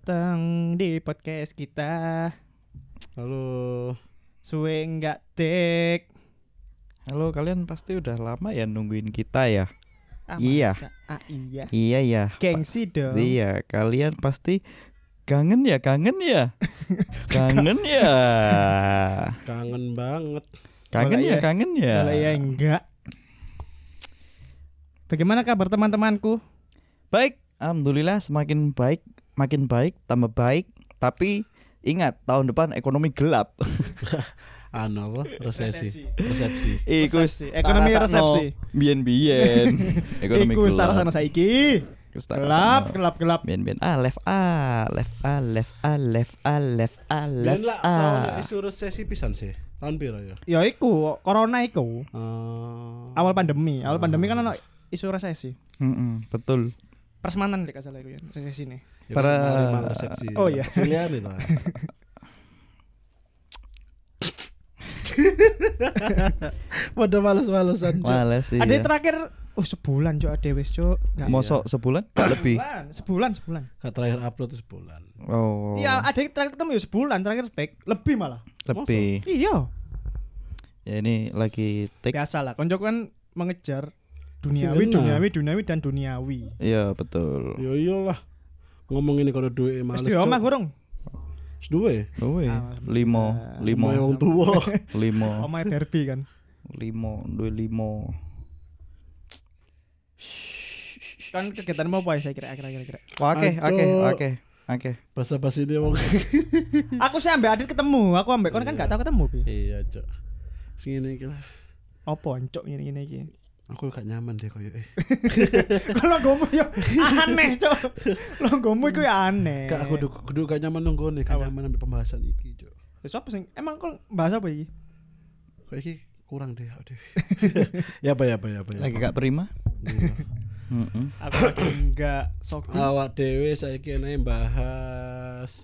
datang di podcast kita. Halo. Suwe enggak tek. Halo, kalian pasti udah lama ya nungguin kita ya? Iya. Iya. Iya. Iya ya. Gengsi dong. Iya, kalian pasti kangen ya. Kangen ya. Kangen banget. Kangen ya. Kalau ya enggak. Bagaimana kabar teman-temanku? Baik, alhamdulillah semakin baik, makin baik, tambah baik. Tapi ingat, tahun depan ekonomi gelap. Apa? Resepsi. Resepsi. Ekonomi resepsi. Bien. Ekonomi Iku gelap. starasana saiki. Gelap. Bien. Left A. Ben lah tahun isu resesi pisan sih. Tahun piro ya? Ya iku, corona iku. Awal pandemi kan ono isu resesi. Betul. Persemanan dek salah iku ya, resesi nih. Ya, Para- resepsi. Oh, iya. Silian itu. Pada males-malesan. Males sih. Ada Ya. terakhir sebulan cok ade wis cok. Nggak. Mosok sebulan lebih. Sebulan. Kak terakhir upload itu sebulan. Oh. Iya, ada yang terakhir ketemu ya sebulan, terakhir tag lebih malah. Lebih. Iya. Ya ini lagi take. Biasa lah, konco kan mengejar Sing enak. duniawi dan duniawi. Iya betul. Yo iyalah. Ngomong ini kalau duit males. Wis di omah gorong. Wis duwe. Oh Alhamdulillah. limo. Wong tua. Limo. Omah Barbie kan. Duwe limo. Kan kegiatan mau apa ya saya kira. Oke. Basa-basi dia wong. Aku sih ambek Adit ketemu, aku ambek kon kan gak tau ketemu Bi. Iya, Cok. Sing ngene iki lah. Apa oncok ngene-ngene iki. Aku gak nyaman deh koyo Kalau gomu ya aneh, Cok. Lo gomu iku ya aneh. Kak aku kudu gak nyaman nunggu nih, gak nyaman ambil pembahasan iki, Cok. Wis apa sing emang kon bahas apa iki? Kayak iki kurang deh, aduh. Ya apa. Lagi gak prima? Iya. Aku lagi enggak sok. Awak dhewe saiki enek bahas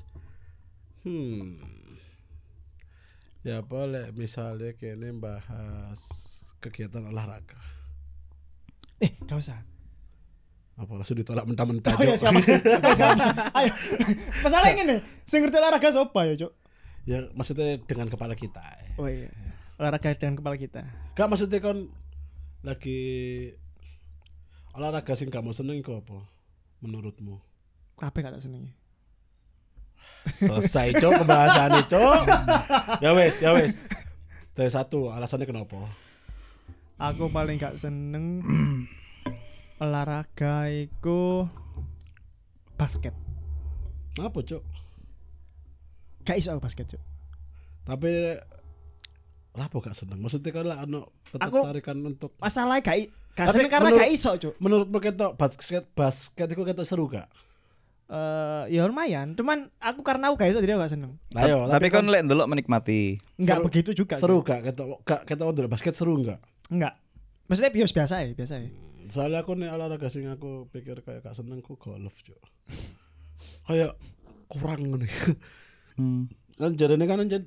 ya boleh misalnya kene bahas kegiatan olahraga. Gak usah. Apa langsung ditolak mentah-mentah, Oh ya Cok? siapa? Ayo. Masalah ngene, sing ngerti olahraga sapa ya, Cok? Ya maksudnya dengan kepala kita. Oh iya. Olahraga dengan kepala kita. Gak maksudnya kon lagi olahraga sing kamu seneng iku apa menurutmu? Kabeh gak tak senengi. Selesai, Cok, pembahasannya, Cok. Ya wes. Dari satu alasannya kenapa? Aku paling gak seneng olahraga iku basket. Apa, Cok? Gak iso aku basket, Cok. Tapi apa gak seneng? Maksudnya kan lah ono ketertarikan untuk Masalahnya gak Tapi seneng karena menurut- gak iso, Cok. menurutmu ketok basket itu ketok seru gak? Ya lumayan, cuman aku karena aku gak iso jadi aku gak seneng. Ayo, Tapi kon lek ndelok menikmati. Enggak Seru- begitu juga. seru Cok. gak ketok udah basket seru gak? Enggak. Maksudnya biasa ya. Soalnya aku nih olahraga sing aku pikir kayak gak seneng ku golf, Cok. Kayak kurang nih. Kan jarene kan anjen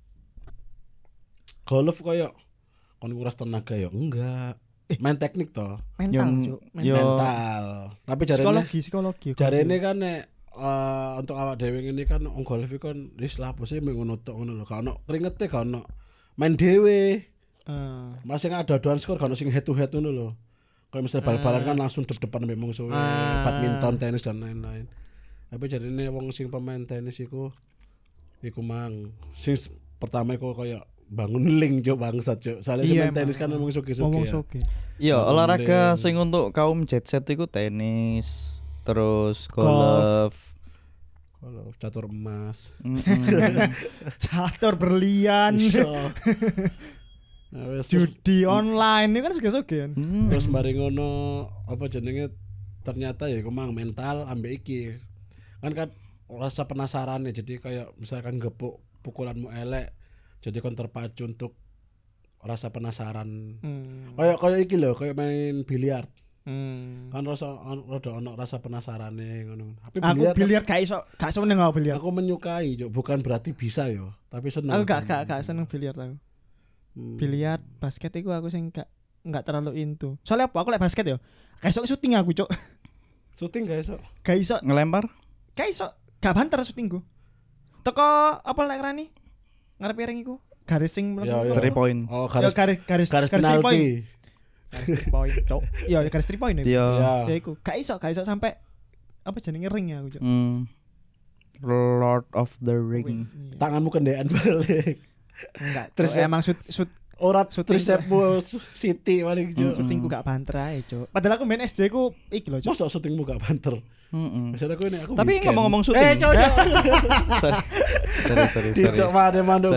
golf kayak kon nguras tenaga ya enggak. Main teknik toh. Mental, Cok. Mental. Tapi jarene Psikologi. jarene kan nek untuk awak dhewe ngene kan wong golf iku kan wis lah bose mung ngono tok ngono lho. Gak ono kringete gak ono. Main dhewe. Masih ada aduan skor gak ono sing head to head ngono lho. Kayak misalnya bal-balan kan langsung dep-depan memang suwe badminton, tenis dan lain-lain. Tapi jarene wong sing pemain tenis iku mang sing pertama iku kayak bangun link Cok bangsat Cok. Soalnya Iya, main tenis kan memang suki-suki Ngomong ya. soge. Iya, Bangun olahraga link. sing untuk kaum jet set iku tenis, terus golf. Kalau catur emas. Catur berlian. Iso. Nah, wes, Judi online ini kan soge-soge kan. terus mari ngono apa jenenge ternyata ya kemang mental ambek iki. Kan rasa penasaran ya jadi kayak misalkan gepuk pukulanmu elek jadi kon terpacu untuk rasa penasaran. Kayak iki lho, kayak main biliar. Kan rada ono rasa penasarane ngono. Tapi Aku biliar gak seneng aku biliar. aku menyukai, Cuk. Bukan berarti bisa yo, tapi seneng. Aku gak seneng biliar aku. Biliar, basket itu aku sing gak terlalu into. Soalnya apa? Aku lek basket yo. Gak iso syuting aku, Cuk. Syuting gak iso. Gak iso. Ngelempar? Gak iso. Gak banter syutingku. Teko apa lek rani? Ngarep piring iku. Garis sing Ya, 3 point. Oh, garis garis 3 point. penalti. Garis 3 point, Cok. Iya, garis 3 point. Iya. Ya iku. Gak iso sampai apa jenenge ring ya aku, Cok. Lord of the Ring. Tanganmu kendean balik. Enggak. Terus Terus emang shoot Ora Syuting tricepmu City paling jo. syutingku gak banter ae, Cok. Padahal aku main SD ku iki lho, Cok. Masa syutingmu gak banter? Misalnya aku Tapi weekend. ngomong-ngomong syuting. cocok. Sorry. Tidak mana manuk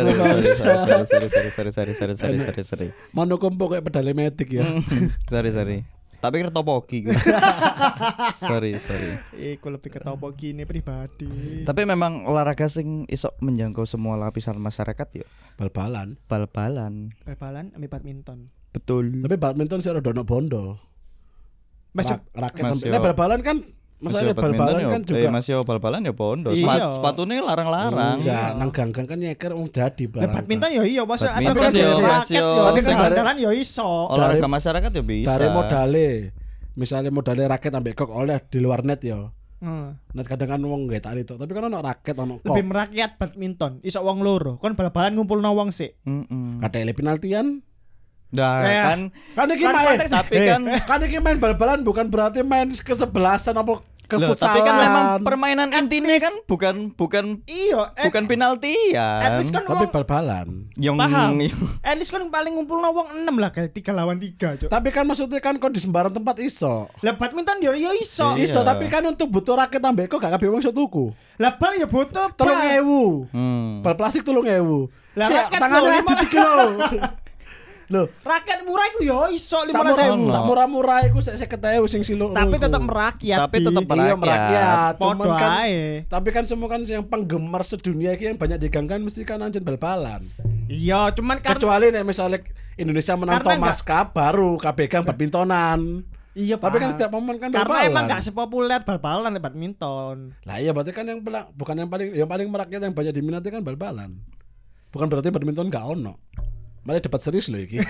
Sorry. manuk kompo kayak pedale medik ya. Sorry. Tapi kira topoki. Sorry. Iku lebih ke topo gini pribadi. Tapi memang olahraga sing iso menjangkau semua lapisan masyarakat ya. Bal-balan. Bal-balan ambil badminton. Betul. Tapi badminton sih rada bondo. Masuk Raket Mas, ambil. yo. Bal-balan kan masalahnya bal-balan kan juga. masih bal-balan ya bondo. Iya. Sepatunya larang-larang. Enggak, nang ganggang kan nyeker wong dadi Lah badminton ya iya, masa asal Badminton kan yo, raket Mas, yo. yo. Tapi kan Dari- bandalan ya iso. Olahraga masyarakat ya bisa. Dari modale. Misalnya modalnya raket ambek kok oleh di luar net ya. Net kadang kan wong gak tali to, tapi kan ono raket ono kok. Lebih merakyat badminton. Iso wong loro. Kon bal-balan ngumpulno wong sik. Kadele penaltian. Nah, Eh, kan Kan iki Kan main. konteks- tapi kan Kan iki main bal-balan bukan berarti main kesebelasan apa loh, kefutsalan. tapi kan memang permainan intinya kan bukan Iya, bukan penaltian. at least kan tapi wong bal-balan. Yang paham. At least kan paling ngumpulno wong 6 lah kayak 3 lawan 3, Cok. Tapi kan maksudnya kan kok di sembarang tempat iso. Lah badminton ya iso. Iya. Iso tapi kan untuk butuh raket ambek kok gak kabeh wong iso tuku. Lah bal ya butuh 3.000. Bal plastik 3.000. Lah, Sik, raket tangannya lho, adu 3 kilo. Loh, Raket murah iku ya iso 15.000. Ono. sak murah-murah iku 50.000 sing siluk. Tapi iku. tetap merakyat. Tapi Di. tetap Iya merakyat. Podo Cuman kan ae. tapi kan semua kan yang penggemar sedunia iki yang banyak diganggan mesti kan anjen bal-balan. Iya, cuman kan Kecuali nek misalnya Indonesia menang Karena Thomas Cup baru KBK badmintonan. iya, Tapi kan paham. setiap momen kan karena bal-balan. emang gak sepopuler bal-balan badminton. Lah iya berarti kan bukan yang paling merakyat yang banyak diminati kan bal-balan. Bukan berarti badminton gak ono. Mari debat serius loh iki.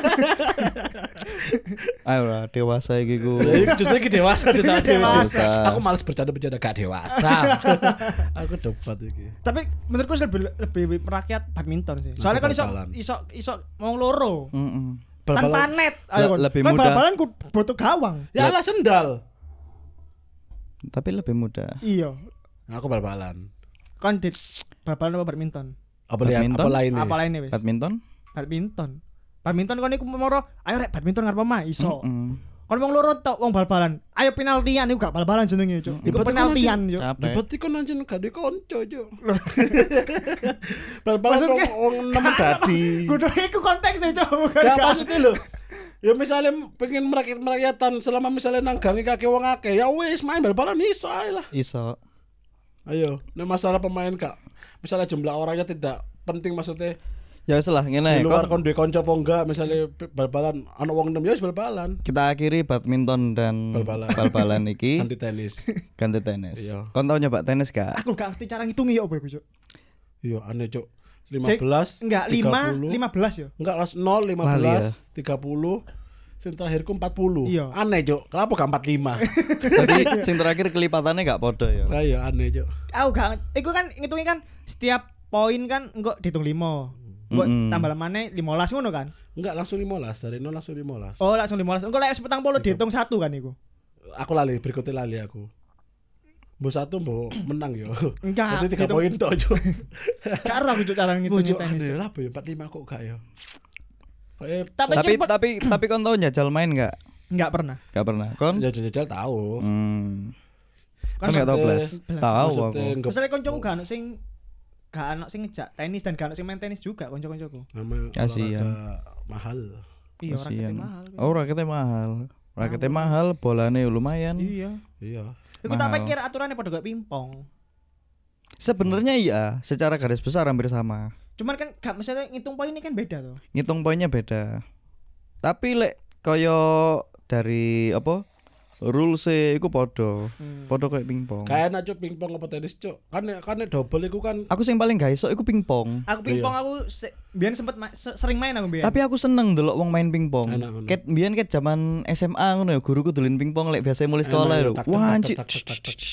Ayo lah dewasa iki ku. Ya, justru iki dewasa tidak Dewasa. Aku malas bercanda-bercanda gak dewasa. Aku debat iki. Tapi menurutku sih lebih merakyat badminton sih. Soalnya kan bal-balan. iso wong loro. Bal-balan. Tanpa net. Ayo, kon. Lebih Kan mudah. bal-balan ku butuh gawang. Ya lah sendal. Tapi lebih mudah. Iya. Aku bal-balan. Kon dit bal-balan apa badminton? Apa lihat Badminton? apa lainnya? Apa lainnya wis? Badminton? Badminton kon iku moro, ayo rek badminton ngarep omah iso. Kon wong loro tok wong bal-balan. Ayo penaltian iku gak bal-balan jenenge, Cuk. Iku Berarti penaltian, kan Cuk. Capek. Berarti kan anjen gak di konco jo. Bal-balan Maksudnya wong nemen dadi. Kudu iku konteksnya, Cuk. Bukan Ya gak. maksudnya lho. Ya misalnya pengen merakyatan selama misalnya nang gangi kaki wong akeh ya wis main bal-balan iso ae lah. Iso. Ayo, nek masalah pemain kak. Misalnya jumlah orangnya tidak penting maksudnya Ya wis lah di ngene. luar Kon- kon duwe kanca apa enggak misalnya bal-balan ana wong 6 ya wis bal-balan. Kita akhiri badminton dan Bal-balan. bal-balan iki Ganti tenis. ganti tenis. Iya. Kon tau nyoba tenis gak? Aku gak ngerti cara ngitungi ya apa iku, Cuk. Iya aneh cuk. Cek, 15 enggak 30. 15 ya. Enggak las 0 Lali 15 30 sing terakhirku 40. Iya. Aneh cuk. Kenapa gak 45? Jadi sing terakhir kelipatannya gak podo ya. Lah iya aneh cuk. Aku gak iku kan ngitungin kan setiap poin kan engko dihitung 5. Engko tambah maneh 15 ngono kan. Enggak langsung 15 dari 0 langsung 15. Oh, langsung 15. Engko lek 40 dihitung 1 kan iku. Aku lali berikutnya lali aku. Mbok satu mbok menang yo. Enggak, Berarti 3 gitu. poin tok cuk. Karo aku Cuk cara ngitungin tenis. Aneh lah apa ya 45 kok gak yo. Tapi kon tau njajal main gak? Enggak pernah. Gak pernah. Kon? Ya jajal tahu. Kon gak tau blas. Belas. Tahu aku. Maksudnya enggak Misalnya koncoku gak ono sing ngejak tenis dan gak ono sing main tenis juga konco-koncoku. nama Kasihan. olahraga mahal. Iya, raketnya Kasian. mahal. Oh, raketnya mahal. Raketnya mahal, bolanya lumayan. Iya. Iya. Iku tak Mahal. pikir aturannya pada kayak pingpong. Sebenarnya iya, secara garis besar hampir sama. Cuman kan gak misalnya ngitung poinnya kan beda tuh. Ngitung poinnya beda. Tapi lek kaya dari apa? Rules iku podo. Podo kayak pingpong. Kayak enak cuk pingpong apa tenis cuk. Kan double iku kan Aku sing paling gak iso iku pingpong. Aku pingpong aku biyen sempet sering main aku biyen. Tapi aku seneng delok wong main pingpong. Enak, enak. Ket zaman SMA ngono ya guruku dolin pingpong lek biasa mulai sekolah Enak, lho. tak, tak, Wah, tak, anjir. tak, tak, tak, tak.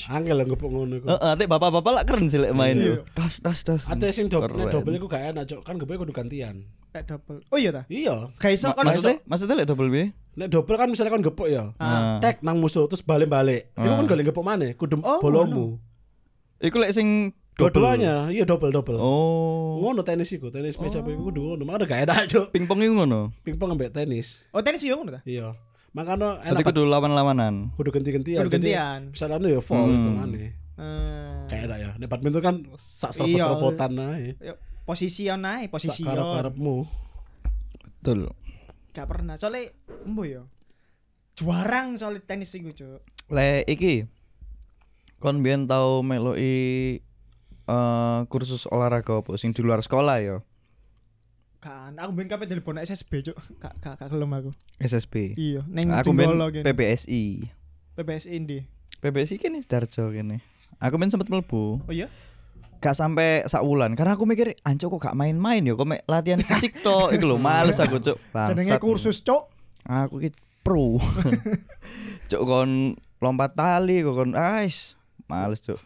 Angel ngepuk ngono iku. Heeh, tek bapak-bapak lak keren sih lek main yo. Das. Ate sing double iku gak enak, Cuk. Kan gepe kudu gantian. Kayak double. Oh iya ta? Iya. Gak iso kan Maksudnya lek double piye? Nek double kan misalnya kan gepuk ya. Tek nang musuh terus balik-balik. Iku kan golek gepuk maneh, kudu bolomu. Iku lek sing Dua-duanya, iya double. Oh. Ngono tenis iku, tenis meja iku kudu ngono. Makane gak enak, Cuk. Pingpong iku ngono. Pingpong ambek tenis. Oh tenis yo ngono ta? Iya. Makanya Berarti enak kudu lawan-lawanan. kudu ganti-gantian. Kudu gantian. Misalnya ya fall itu maneh. Kayak enak ya. Nek badminton kan sak serobot-serobotan ae. Posisi ae, posisi yo. Karep-karepmu. Betul. Gak pernah. Soalnya embo yo. Juarang soal tenis iku, Cuk. Lek iki kon biyen tau meloki kursus olahraga apa sing di luar sekolah ya. Kan aku ben kabeh telepon SSB, Cuk. Gak gelem aku. SSB. Iya, ning Aku ben Jenggolo kene. PPSI. PPSI ndi? PPSI kene Sidoarjo kene. Aku ben sempet mlebu. Oh iya? Gak sampai sak wulan karena aku mikir anco kok gak main-main ya kok latihan fisik tok iku lho males aku cuk. Jenenge kursus, Cuk. Aku ki pro. Cuk kon lompat tali kok kon males cuk.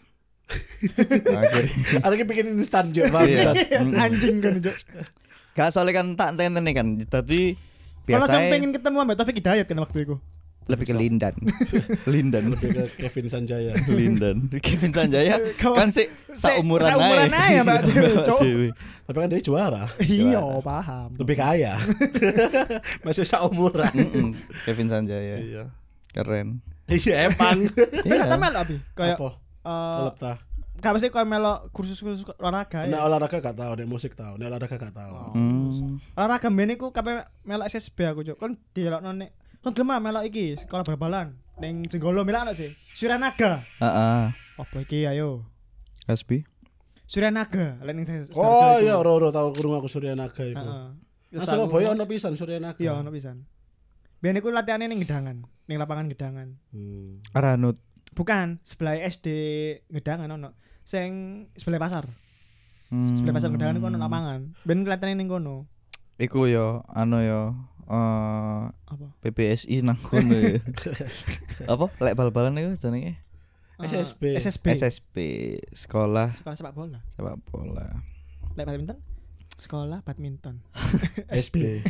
Ada ki bikin instan Cuk, Iya. Anjing kan, Cuk. Gak soalnya kan tak tentene kan. Tadi Kalau biasa sampe pengen ketemu sama Taufik Hidayat kan waktu itu. lebih ke Lindan. lebih ke Kevin Sanjaya. Lindan. Kevin Sanjaya kan sih saumuran ae Mbak Dewi, Cuk. Tapi kan dia juara. Iya, paham. Lebih kaya. Masih seumuran. Kevin Sanjaya. Iya. Keren. Iya emang. Enggak ta melok abi. Kayak Apa? Klub ta. Gak pasti kayak melok kursus-kursus olahraga Nek ya. olahraga gak tau, nek musik tau, nek olahraga gak tau. Olahraga mbene iku kabeh melok SSB aku, Cuk. Kon delokno nek kon gelem melok iki sekolah bal-balan ning Jenggolo melok sih. Suryanaga. Heeh. Apa iki ayo? Hasbi. Suryanaga lek ning Oh iya, ro tau krungu aku Suryanaga iku. Heeh. Nah, Surabaya ono pisan Suryanaga. Iya, ono pisan. Biyen iku latihane ning Gedangan, ning lapangan Gedangan. Aranut. Bukan, sebelah SD Gedangan ono. Sing sebelah pasar. Sebelah pasar Gedangan iku ono lapangan. Ben latihane ning kono. Iku yo Apa? PPSI nang kono ya. Apa? Lek bal-balan iku jenenge? SSB. SSB sekolah Sekolah sepak bola. Lek badminton? Sekolah badminton. SB.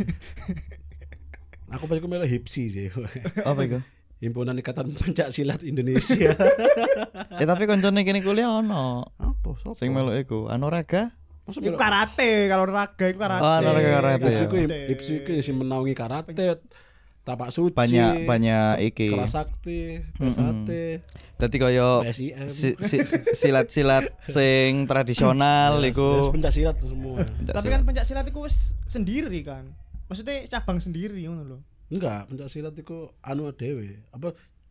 Aku pas iku melu HIPSI sih. Apa iku? Himpunan Ikatan Pencak Silat Indonesia. Tapi koncone kene kuliah ono. Apa? Sopo? Sing melu iku Anoraga. Iku karate, kalau raga iku karate. Oh, olahraga karate. HIPSI iku sing menaungi karate, tapak suci. Banyak iki. Kerasakti, pesate. Dadi kaya PSIM. silat-silat sing tradisional iku. Pencak silat semua. Tapi kan pencak silat iku wis sendiri kan. Maksudnya cabang sendiri ngono lho. Enggak, pencak silat iku anu dhewe. Apa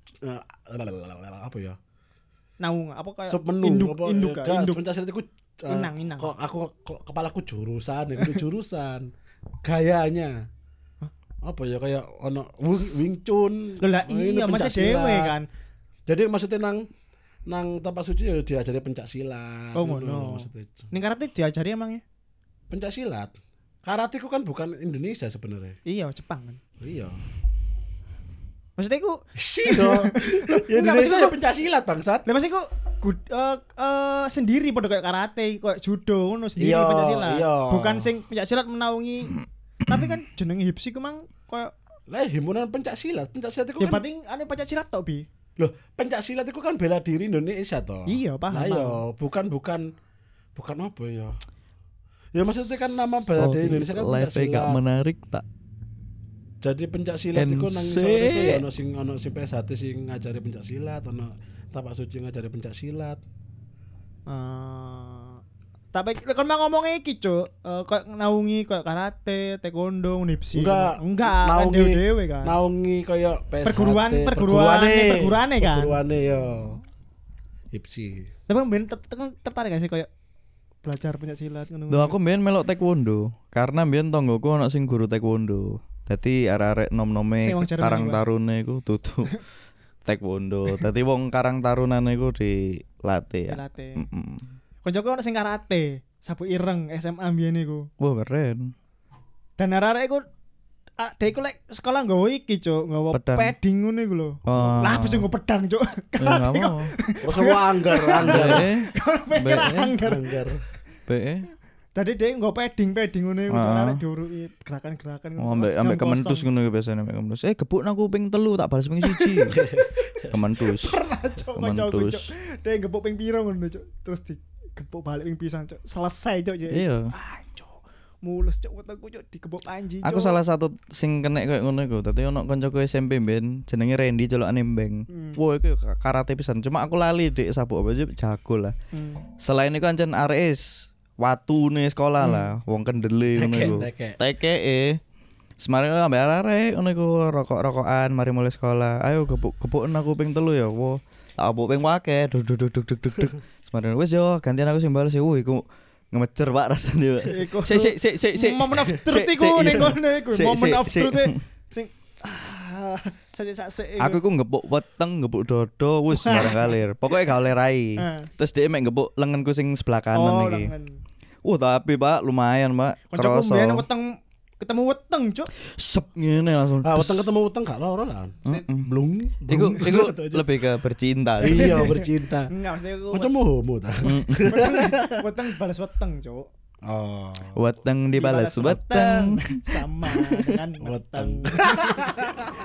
ya? Naung apa kayak Submenu induk apa? induk Enggak, induk. pencak silat iku Inang. Kok aku kepalaku jurusan, itu jurusan. Gayanya. Apa ya kayak ono Wing Chun. Lho lah ini iya pencak masih dewe silat. kan. Jadi maksudnya nang tapak suci ya diajari pencak silat. Oh gitu ngono. loh maksudnya. Ning karate diajari emangnya? Pencak silat. Karate ku kan bukan Indonesia sebenarnya. Iya, Jepang kan. Iya. Maksudnya iku Iya. Ya Indonesia ya pencak silat bangsat. lah maksudnya iku sendiri pada kayak karate, kayak judo ngono sendiri Iya, pencak silat. iya. Bukan sing pencak silat menaungi. Tapi kan jenenge HIPSI ku mang kayak Lah himpunan pencak silat itu ya kan. berarti anu pencak silat tok bi. Loh, pencak silat itu kan bela diri Indonesia toh. Iya, paham. Lah iya, bukan apa ya. Ya maksudnya kan nama bela diri Indonesia kan pencak Live gak silat. menarik tak. Jadi pencak silat itu nang NC. sore iku ya ono sing PSHT sing ngajari pencak silat, ono tapak suci ngajari pencak silat. Tapi kan mah ngomong iki, Cuk. Kayak naungi kayak karate, taekwondo, nipsi. Enggak kan dewe kan. Naungi kaya PSHT. Perguruane kan. Perguruane yo. HIPSI. Tapi ben tertarik gak sih kayak belajar pencak silat ngono. Tuh aku mbiyen melok taekwondo karena mbiyen tonggoku ono sing guru taekwondo. Dadi arek-arek nom-nome Sing wong Jerman Karang iku. Tarune iku tutu taekwondo. Dadi wong Karang Tarunane iku dilatih ya. Dilatih. Koncoku ono sing karate, sapu ireng SMA mbiyen iku. Wah keren. Dan arek-arek iku Dek iku lek sekolah nggawa iki, Cuk, nggawa Pedang. padding ngono iku lho. Oh. Lah bisa nggo pedang, Cuk. Ya enggak mau. Terus anggar. Kalau pikir anggar. BE. Tadi dek nggo padding ngono iku arek diuruki gerakan-gerakan Oh, ambek Kementus ngono ya biasane ambek Kementus. Gebuk aku ping 3 tak balas ping 1. Kementus. Kementus. Dek gebuk ping piro ngono, Cuk. Terus digebuk balik ping pisan, Cuk. Selesai, Cuk. Iya. Mulus, Cuk, wetengku, Cuk, digebuk Panji, Cuk. Aku salah satu sing kena koyo ngono iku. Dadi ono kancaku SMP mben jenenge Randy celokane Mbeng. Wah, iku karate pisan. Cuma aku lali dik sabuk apa jago lah. Selain iku ancen arek watune sekolah lah, wong kendele ngono iku. Tekeke. Semare ambek arek ngono iku rokok-rokokan mari mulai sekolah. Ayo gebuk-gebuken aku ping 3 ya. Wo. Tak gebuk ping wake. Duk. Semare wis yo gantian aku sing bales. Iku ngemecer Pak rasane. Sik. Moment of truth iku ning kono iku. Moment of truth sing sik. Aku iku ngepuk weteng, ngepuk dodo, wis bareng kalir. Pokoke gak oleh rai. Terus dhek mek ngepuk lenganku sing sebelah kanan iki. Tapi Pak lumayan, Pak. Kancaku mbiyen weteng ketemu weteng, Cuk. Sep ngene langsung. Weteng ketemu weteng gak loro lah. Blung. Iku lebih ke bercinta. Iya, bercinta. Enggak, maksudnya aku Macam homo ta. weteng balas weteng, Cuk. Oh. Weteng dibalas weteng. sama dengan weteng.